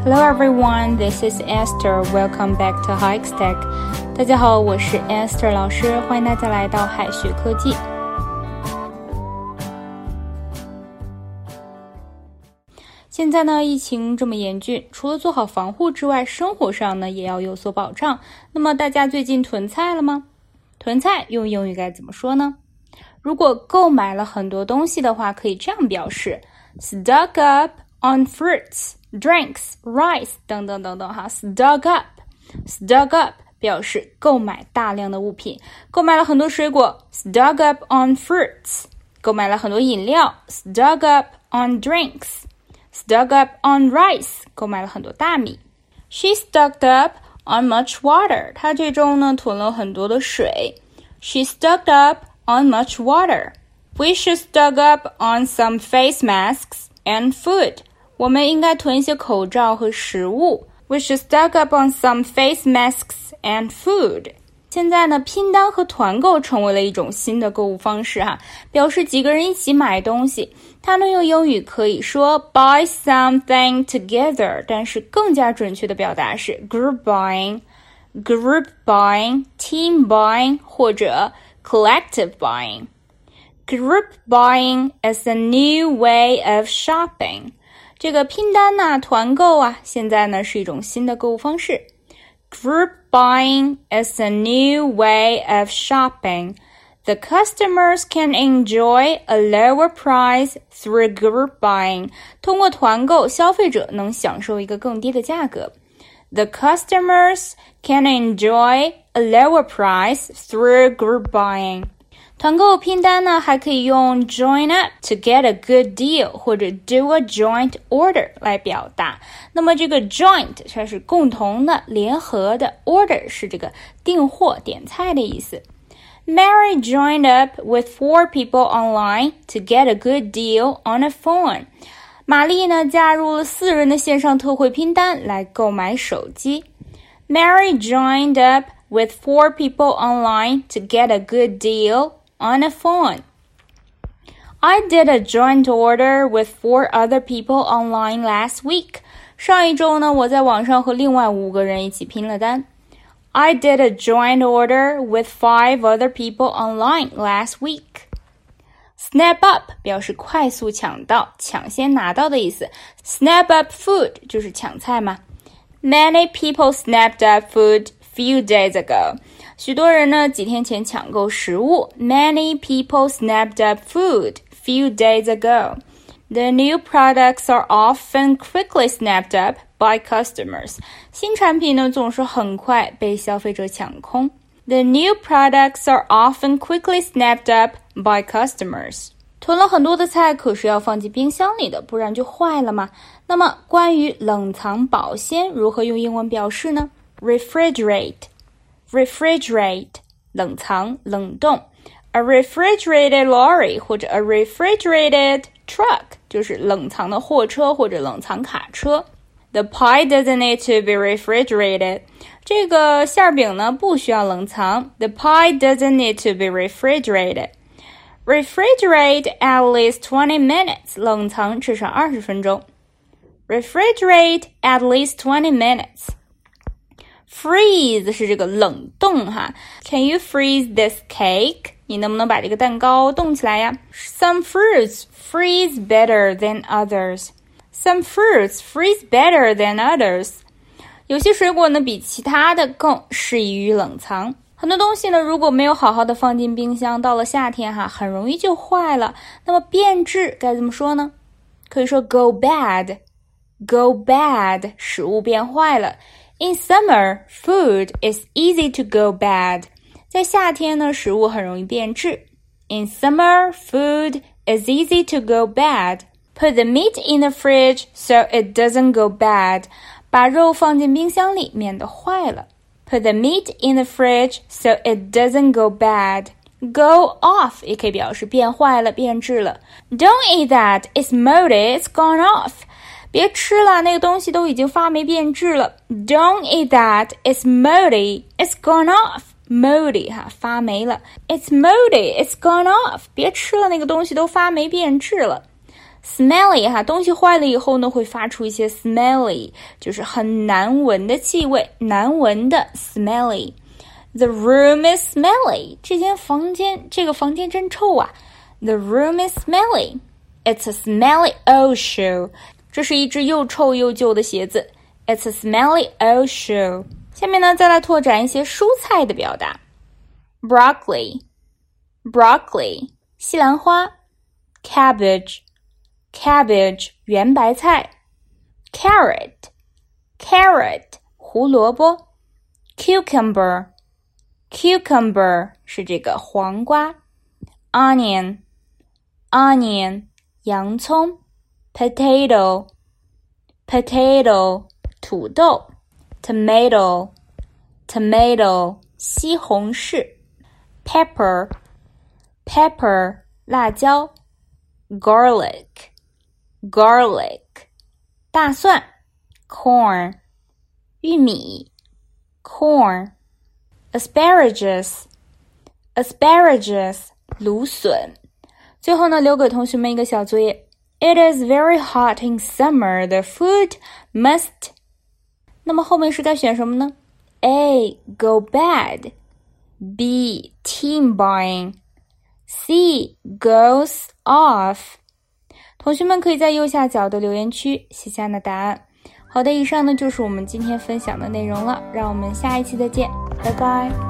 Hello everyone, this is Esther. Welcome back to Hikes-Tech. 大家好，我是 Esther 老师，欢迎大家来到海学科技。现在呢，疫情这么严峻，除了做好防护之外，生活上呢也要有所保障。那么大家最近囤菜了吗？囤菜用英语该怎么说呢？如果购买了很多东西的话，可以这样表示 stock up on fruits.Drinks, rice 等等等等哈 stock up 表示购买大量的物品，购买了很多水果 stock up on fruits 购买了很多饮料 stock up on drinks stock up on rice 购买了很多大米 She stocked up on much water 她这周呢囤了很多的水 She stocked up on much water We should stock up on some face masks and food我们应该囤一些口罩和食物 We should stock up on some face masks and food 现在呢，拼单和团购成为了一种新的购物方式哈，表示几个人一起买东西。它呢用英语可以说 buy something together 但是更加准确的表达是 group buying, team buying 或者 collective buying. Group buying is a new way of shopping.这个拼单呐，团购啊，现在呢是一种新的购物方式。Group buying is a new way of shopping. The customers can enjoy a lower price through group buying. 通过团购，消费者能享受一个更低的价格。The customers can enjoy a lower price through group buying.团购拼单呢还可以用 join up to get a good deal 或者 do a joint order 来表达。那么这个 joint 它是共同的联合的 order 是这个订货点菜的意思。Mary joined up with 4 people online to get a good deal on a phone. 玛丽呢加入了4人的线上特惠拼单来购买手机。Mary joined up with 4 people online to get a good deal on a phone. I did a joint order with 4 other people online last week. 上一周呢，我在网上和另外5个人一起拼了单。I did a joint order with 5 other people online last week. Snap up 表示快速抢到，抢先拿到的意思。Snap up food 就是抢菜嘛。Many people snapped up food few days ago.许多人呢几天前抢购食物 Many people snapped up food few days ago. The new products are often quickly snapped up by customers. 新产品呢总是很快被消费者抢空 The new products are often quickly snapped up by customers. 囤了很多的菜可是要放进冰箱里的，不然就坏了嘛。那么关于冷藏保鲜如何用英文表示呢？ Refrigerate, 冷藏冷冻 A refrigerated lorry 或者 a refrigerated truck 就是冷藏的货车或者冷藏卡车 The pie doesn't need to be refrigerated 这个馅饼呢不需要冷藏 The pie doesn't need to be refrigerated Refrigerate at least 20 minutes 冷藏至少20分钟 Refrigerate at least 20 minutes Freeze 是这个冷冻哈 Can you freeze this cake? 你能不能把这个蛋糕冻起来呀 Some fruits freeze better than others. Some fruits freeze better than others. 有些水果呢比其他的更适宜于冷藏。很多东西呢如果没有好好的放进冰箱，到了夏天哈很容易就坏了。那么变质该怎么说呢？可以说 go bad. Go bad 食物变坏了。In summer, food is easy to go bad. 在夏天呢，食物很容易变质。In summer, food is easy to go bad. Put the meat in the fridge so it doesn't go bad. 把肉放进冰箱里，免得坏了。Put the meat in the fridge so it doesn't go bad. Go off 也可以表示变坏了、变质了。Don't eat that. It's moldy. It's gone off.别吃了，那个东西都已经发霉变质了。Don't eat that. It's moldy. It's gone off. Moldy 哈，发霉了。It's moldy. It's gone off. 别吃了，那个东西都发霉变质了。 Smelly 哈，东西坏了以后呢，会发出一些 smelly， 就是很难闻的气味，难闻的 smelly。The room is smelly， 这个房间真臭啊。The room is smelly. It's a smelly old shoe. 这是一只又臭又旧的鞋子。It's a smelly old shoe. 下面呢，再来拓展一些蔬菜的表达。Broccoli， 西兰花。Cabbage， 圆白菜。Carrot， 胡萝卜。Cucumber， 是这个黄瓜。Onion， 洋葱。Potato， 土豆。Tomato， 西红柿。Pepper， 辣椒。Garlic， 大蒜。Corn， 玉米。Corn。Asparagus， 芦笋。最后呢，留给同学们一个小作业。It is very hot in summer. The food must…… 那么后面是该选什么呢？ A. Go bad. B. Team buying. C. Goes off. 同学们可以在右下角的留言区写下答案。好的，以上呢就是我们今天分享的内容了，让我们下一期再见，拜拜。